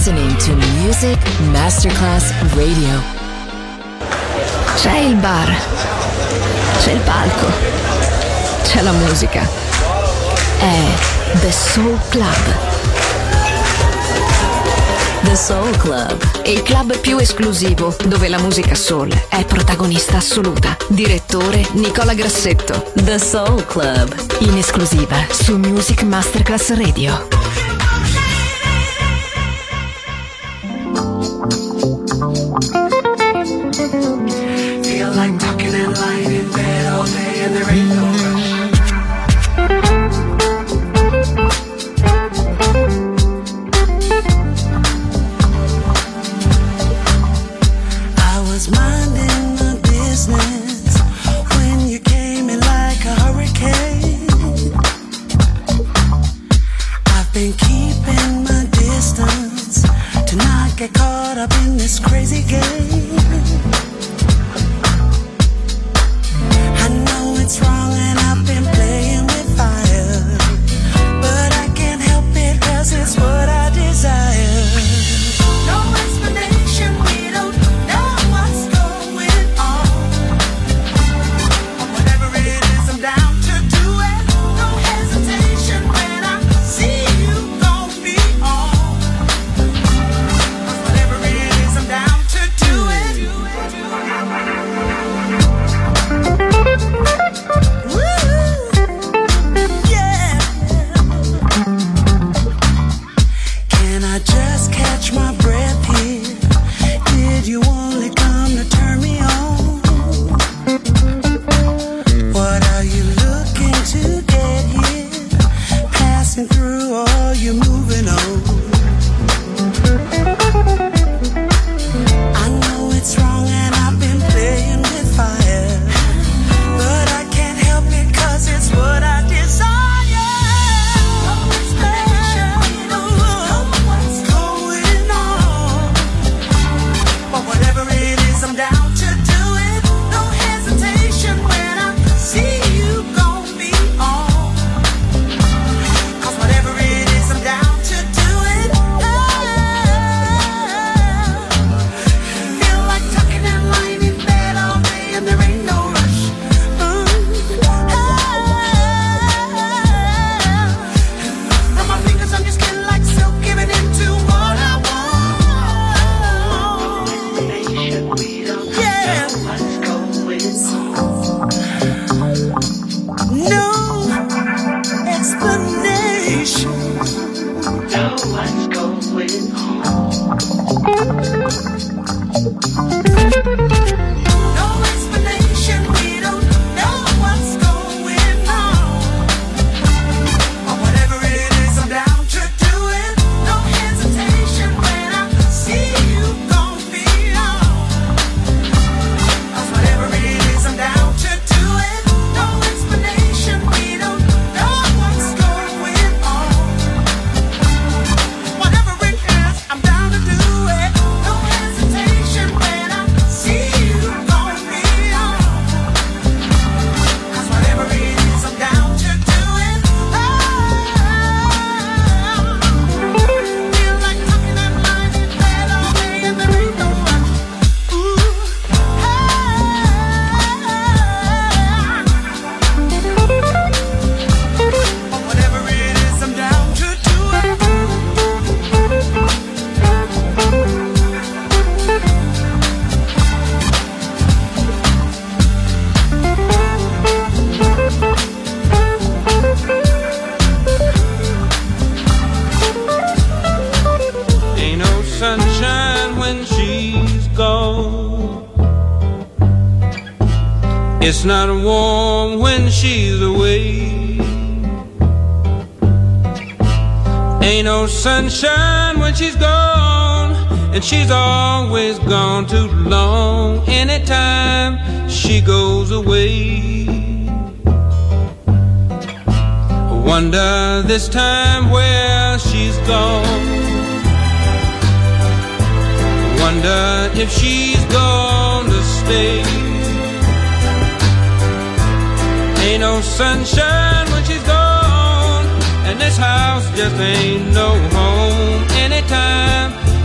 listening to Music Masterclass Radio. C'è il bar, c'è il palco, c'è la musica. È The Soul Club. The Soul Club, Il club più esclusivo dove la musica soul è protagonista assoluta. Direttore Nicola Grassetto. The Soul Club, In esclusiva su Music Masterclass Radio. Feel like talking and lying in bed all day and there ain't no rush. I was minding my business when you came in like a hurricane. I've been keeping my distance to not get caught up in this crazy game. I know it's wrong and I've been playing with fire, but I can't help it 'cause it's what I desire. No explanation, we don't know what's going on. But whatever it is, I'm down to do it. No hesitation when I see you gon' be on. 'Cause whatever it is, I'm down to do it. Yeah. Can I just catch my breath here? Did you only come to turn me on? What are you looking to get here? Passing through or you moving on? I know it's wrong and I've been playing with fire, but I can't help it 'cause it's what I desire. No explanation, we don't know what's going on. But whatever it is, I'm down to do it. No hesitation when I see you gon' be on. 'Cause whatever it is, I'm down to do it. Feel like tucking and lying in bed all day and there ain't no rush. Run my fingers on your skin like silk, giving into what I want. Yeah. No explanation. No explanation, we don't know what's going on. But whatever it is, I'm down to do it. No hesitation when I see you gon' be on. 'Cause whatever it is, I'm down to do it. No explanation, we don't know what's going on. Whatever it is, I'm down to do it. No hesitation when I see you gon' be on. 'Cause whatever it is, I'm down to do it. Feel like tucking and lying in bed all day and there ain't no rush. But whatever it is, I'm down to do it. Ain't no sunshine when she's gone. It's not warm when she's away. Ain't no sunshine when she's gone, and she's always gone too long. Anytime she goes away, I wonder this time where she's gone. Wonder if she's gonna stay. Ain't no sunshine when she's gone, and this house just ain't no home. Anytime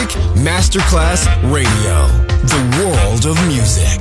Music Masterclass Radio. The world of music.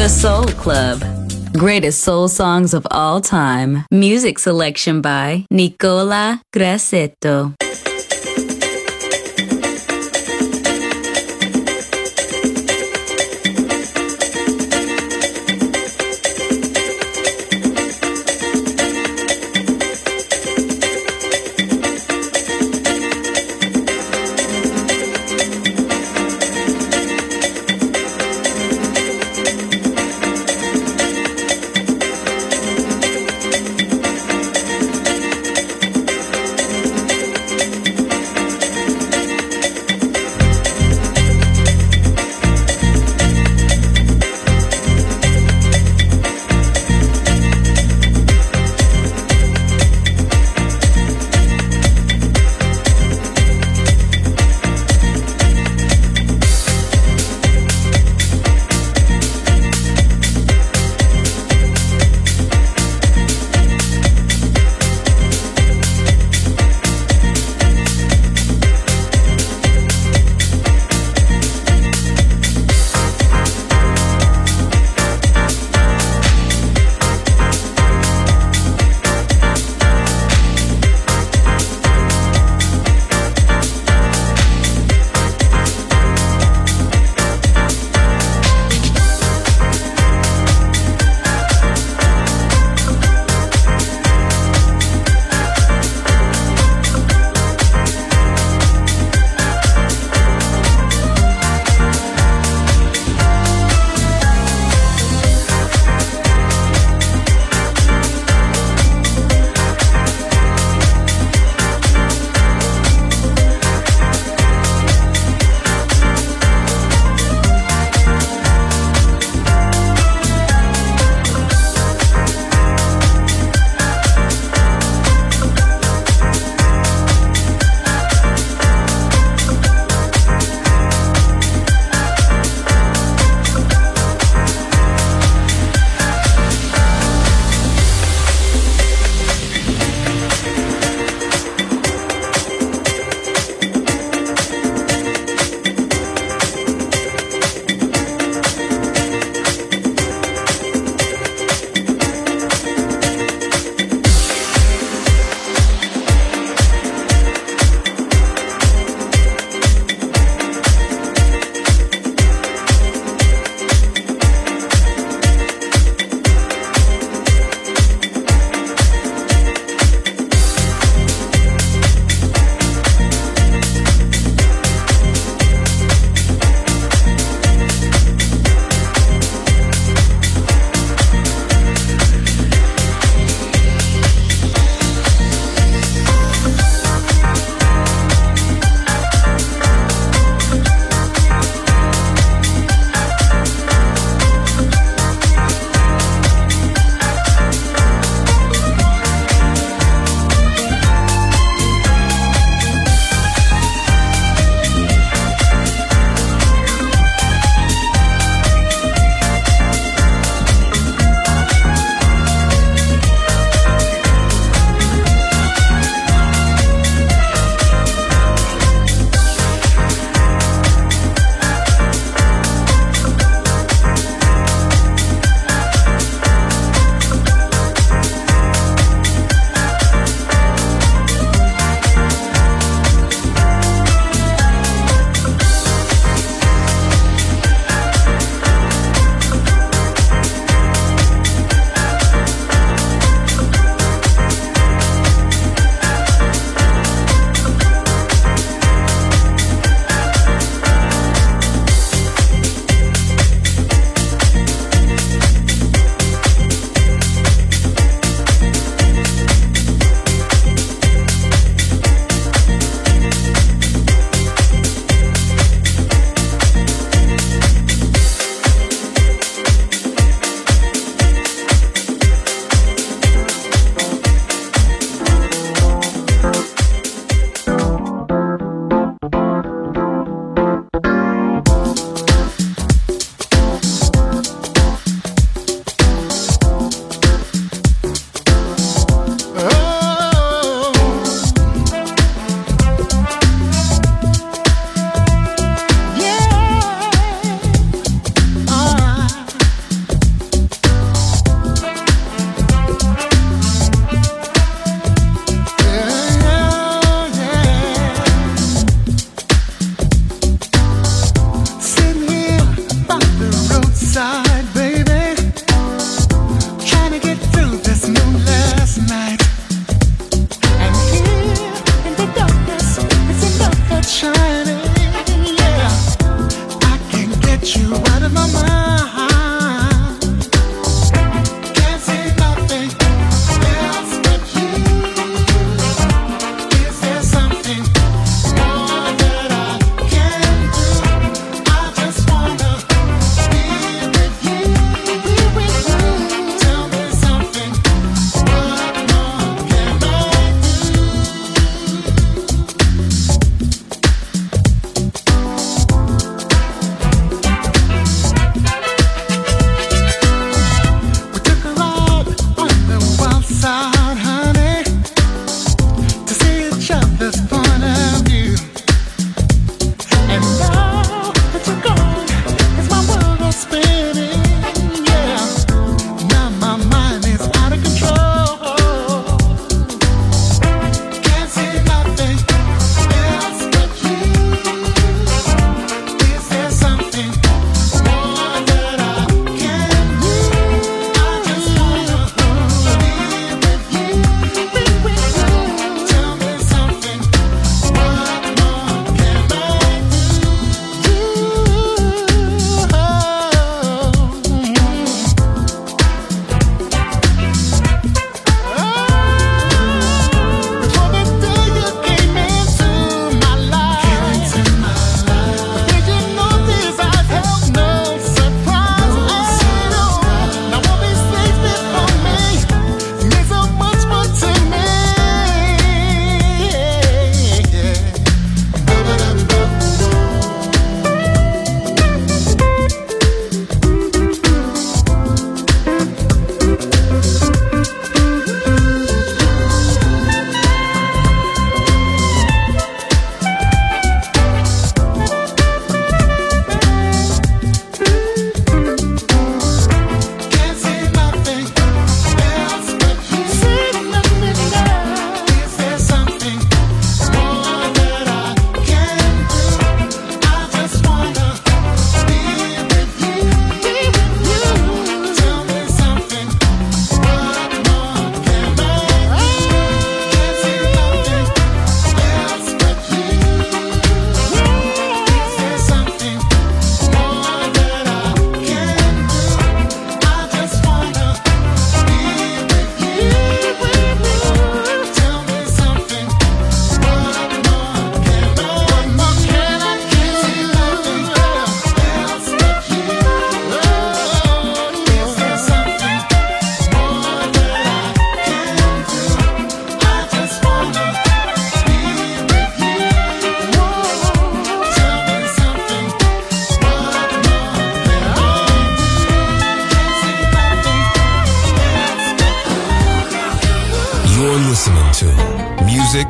The Soul Club. Greatest soul songs of all time. Music selection by Nicola Grassetto.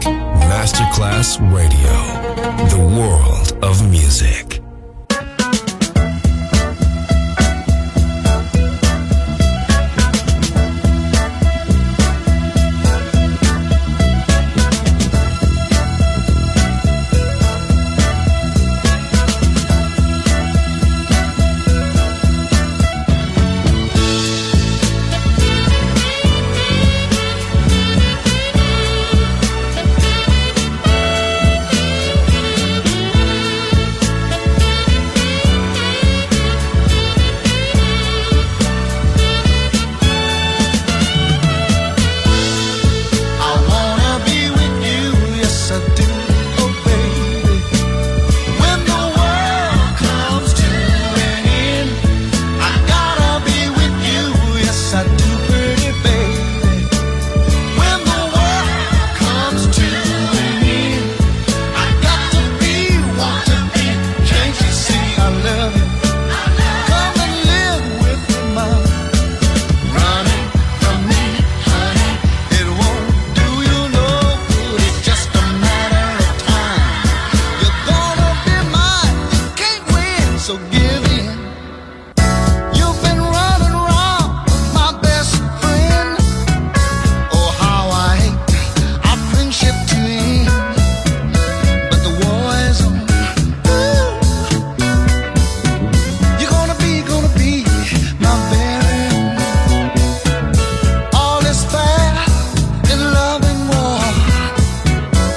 Masterclass Radio, the world of music.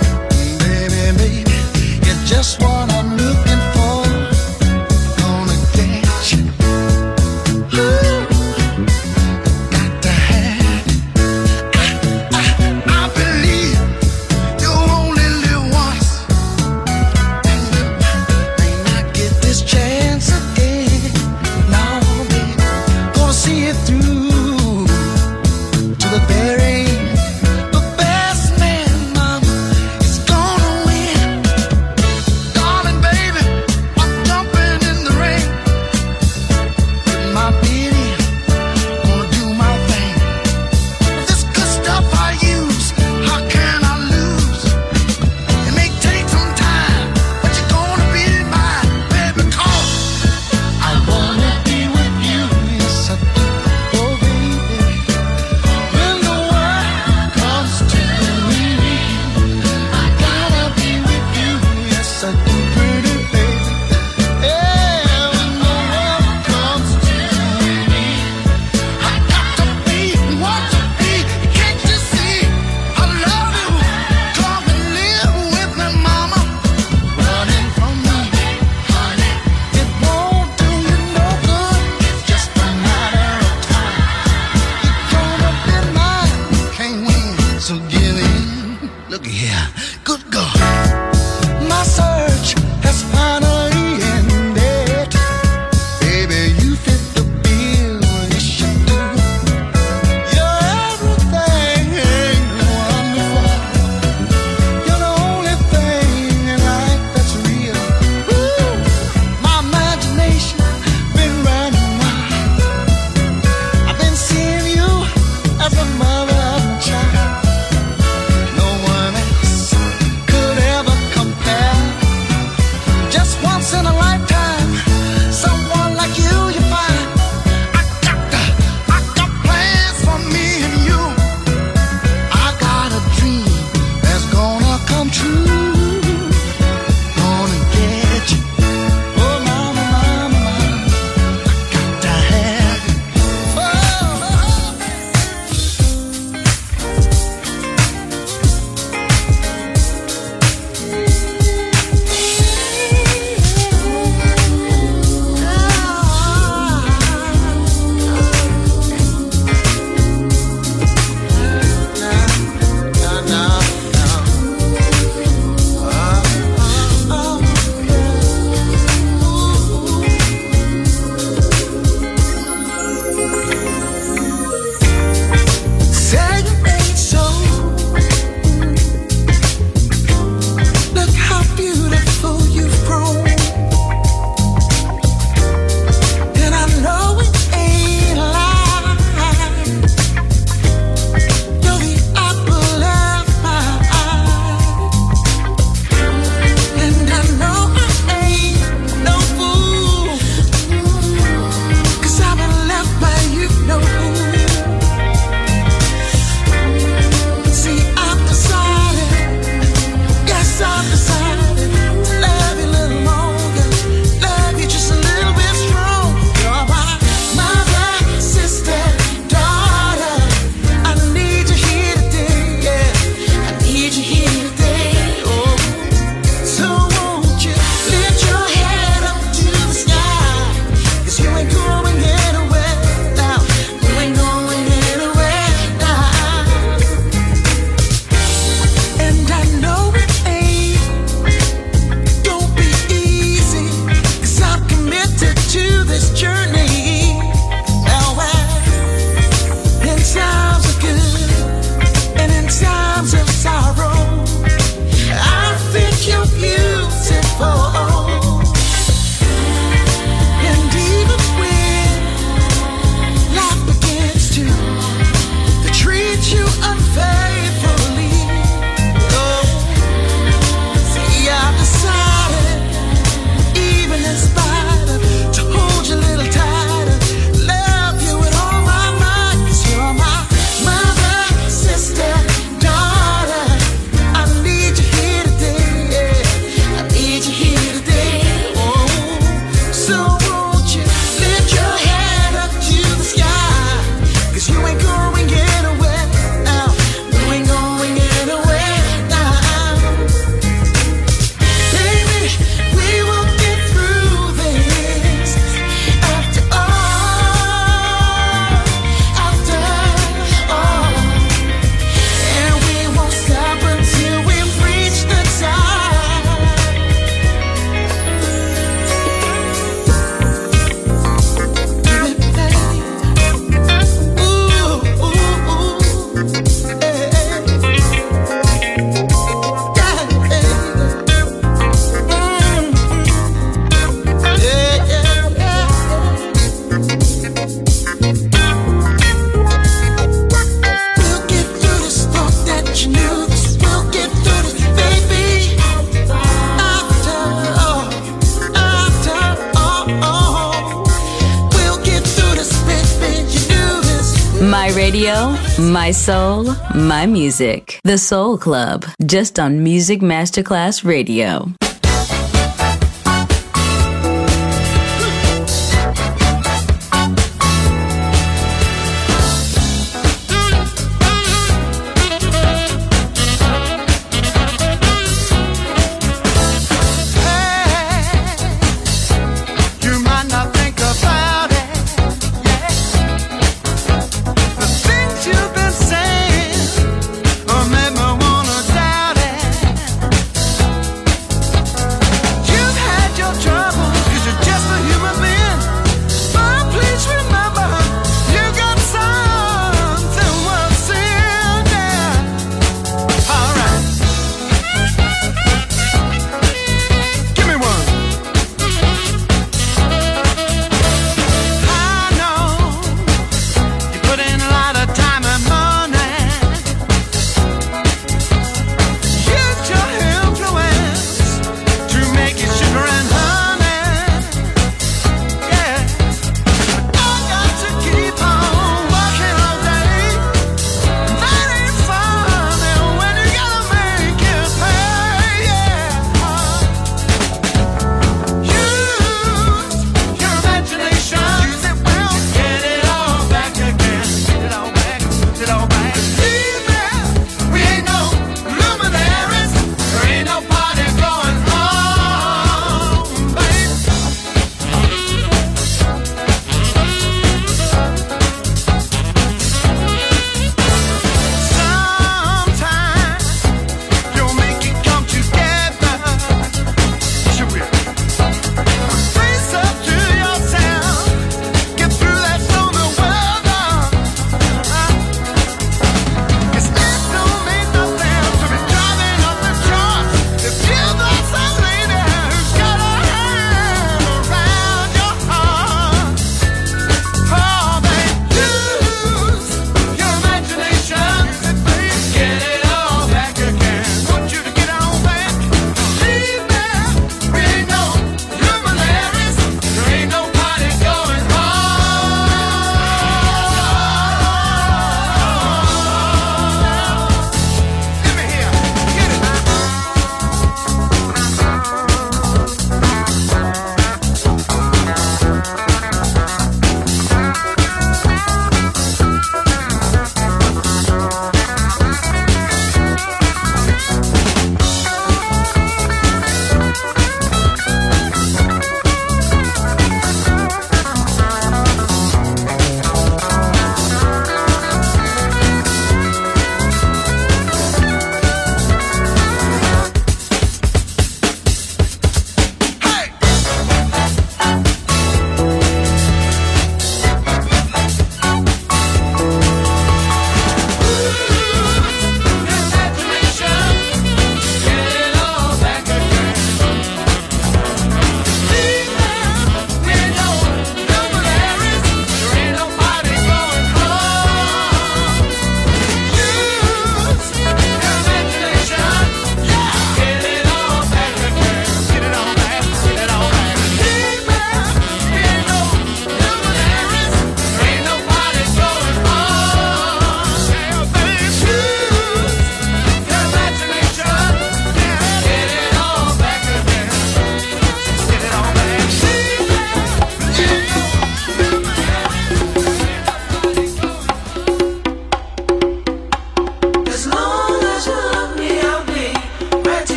Just what I'm looking for. Gonna Radio, my soul, my music. The Soul Club, just on Music Masterclass Radio. Make me wanna doubt it.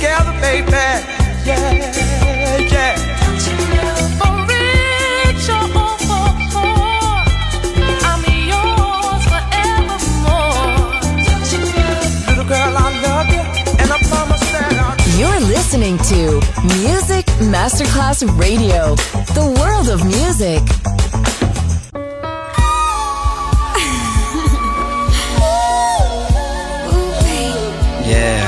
together, baby. Yeah, yeah. For richer or for poor, I'm yours forevermore. Little girl, I love you, and I promise that I'll... You're listening to Music Masterclass Radio, the world of music. Yeah,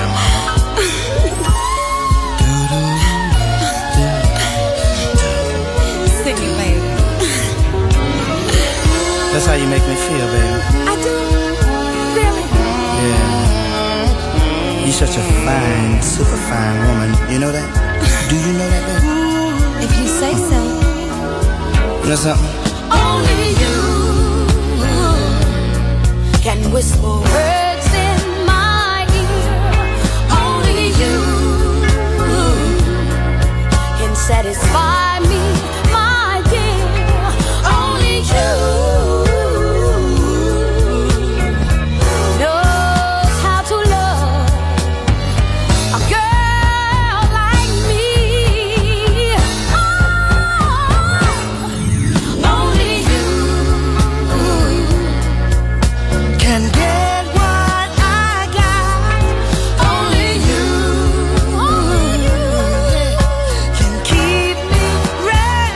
Sing it, baby. that's how you make me feel, baby. I do, really. Yeah. You're such a fine, super fine woman. You know that? Do you know that, baby? If you say so. You know something? Only you can whisper words in my ear. Only you can satisfy me, my dear. Only you knows how to love a girl like me. Only you Can get what I got. Only you can keep me ready.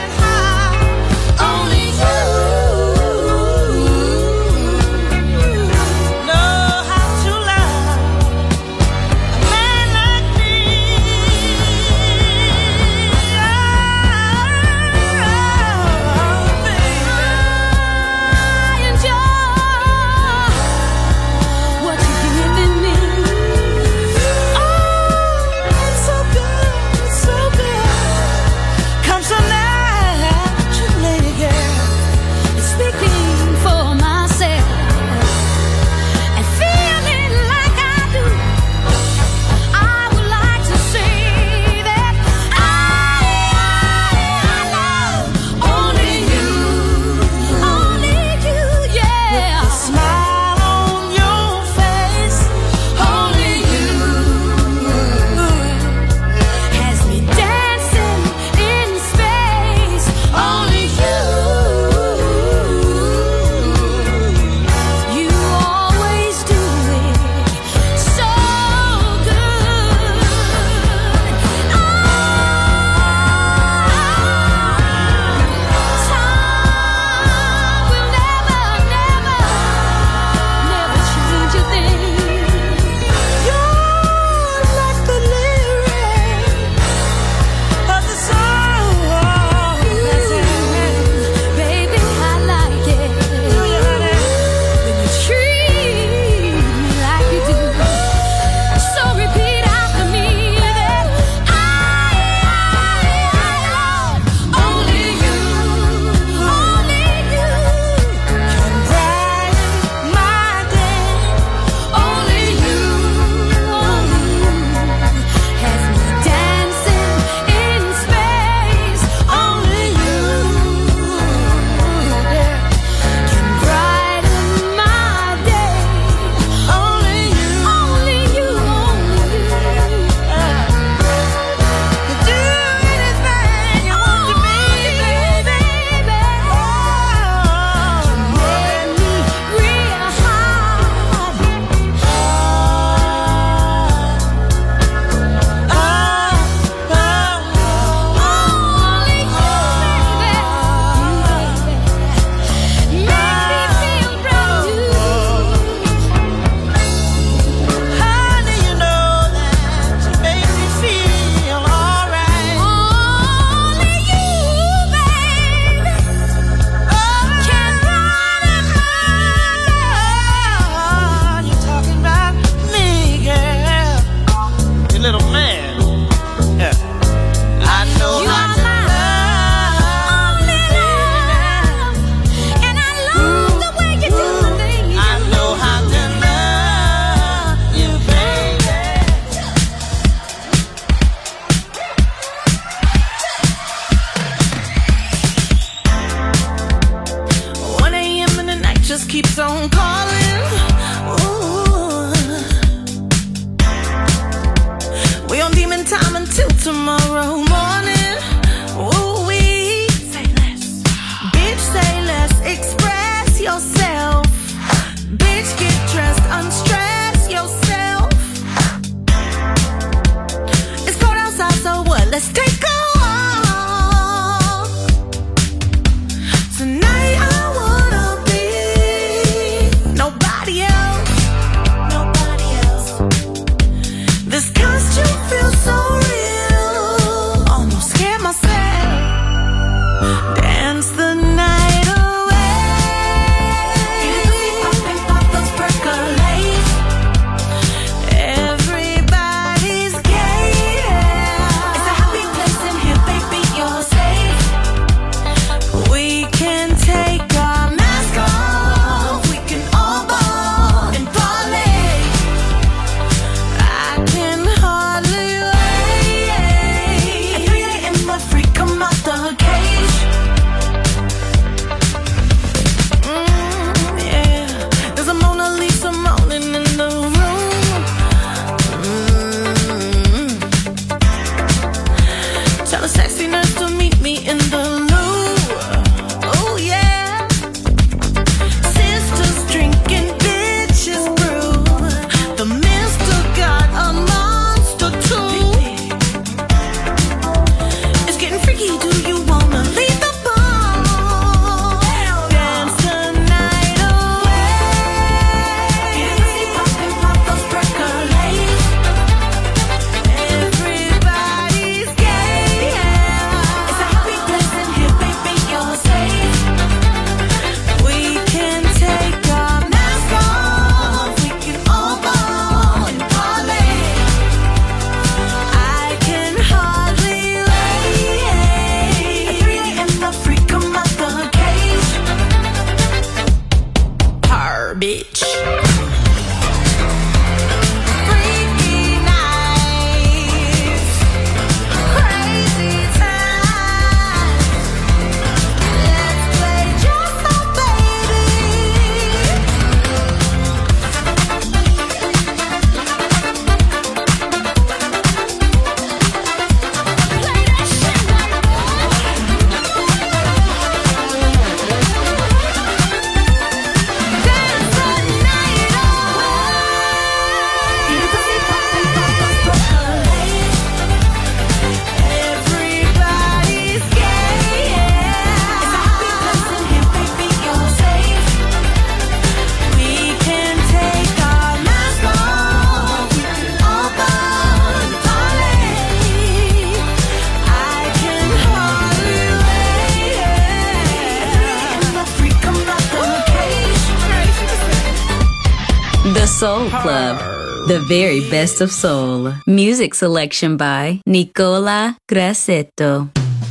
Soul Club, the very best of soul. Music selection by Nicola Grassetto.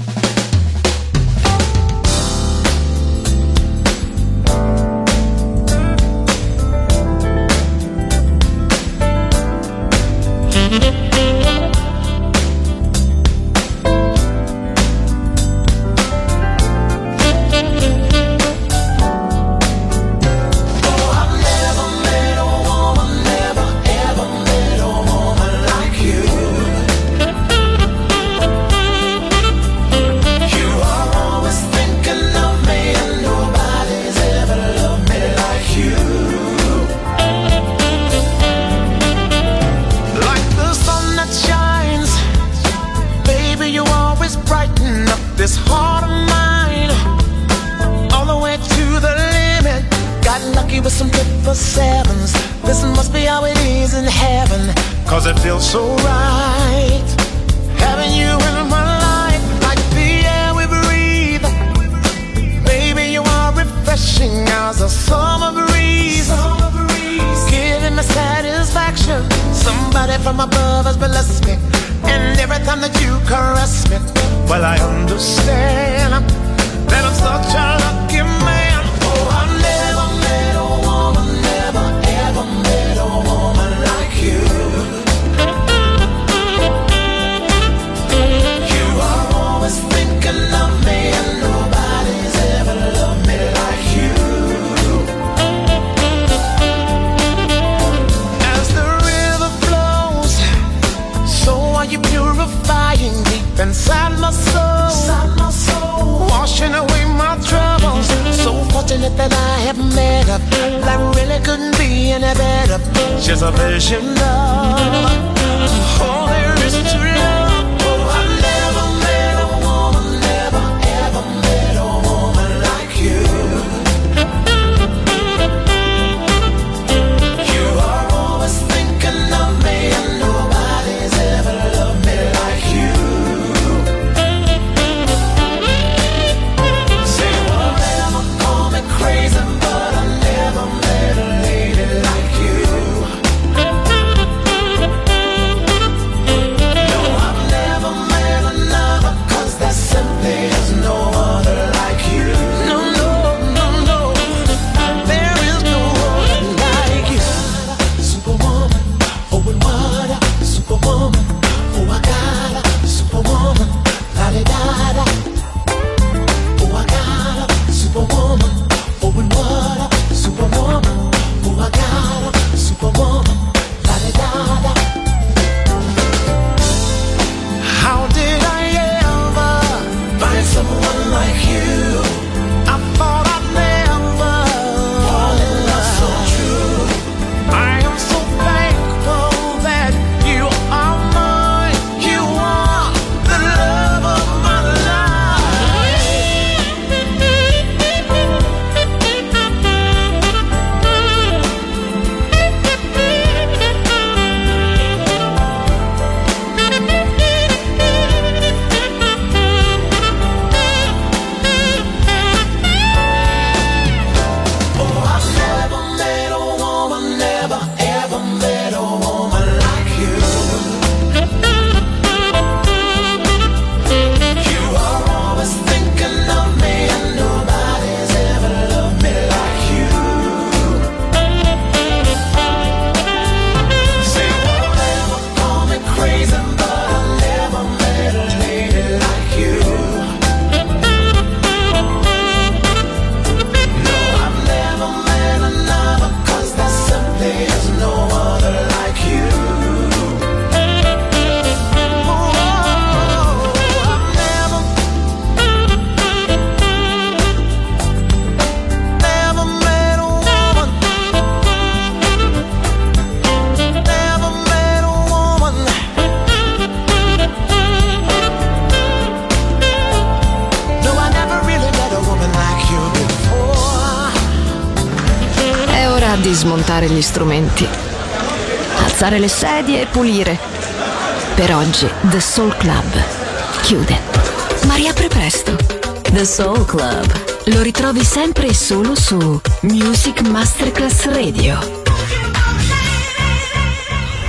This heart of mine, all the way to the limit. Got lucky with some 7s. This must be how it is in heaven, 'cause it feels so right having you in my life, like the air we breathe. Baby, you are refreshing as a summer breeze, giving me satisfaction. Somebody from above has blessed me, and every time that you caress me, well, I understand that I'm such a lucky man. Oh, I've never met a woman, never ever met a woman like you. You are always thinking of me, and nobody's ever loved me like you. As the river flows, so are you purifying deep inside my soul, washing away my troubles. So fortunate that I have met her, that really couldn't be any better. She's a vision of all there is to love. Oh, I've never met a woman, never ever met a woman like you. You are always thinking of me, and nobody's ever loved me like you. Crazy, but I never met a lady like you. No, I've never met another, 'cause there simply is no other like you. No, no, no, no, there is no other like you. Superwoman, oh, and what a superwoman. Oh, I got a superwoman, la-di-da-da. Oh, I got a superwoman. Oh, and what a superwoman. Oh, I got a superwoman. La-di-da-da. How did I ever find someone like you? I thought I'd never fall in love so true. I am so thankful that you are mine. You are the love of my life. Oh, I've never met a woman, never ever met a woman like you. You are always thinking of me, and nobody's ever loved me like you. Say, won't ever call me crazy, but I never met a lady like you. No, I've never met another, 'cause there simply is no other like you. Oh, I've never met a woman, never met a woman. No, I never really met a woman like you before. È ora di smontare gli strumenti, alzare le sedie e pulire. Per oggi The Soul Club chiude, ma riapre presto. The Soul Club. Lo ritrovi sempre e solo su Music Masterclass Radio.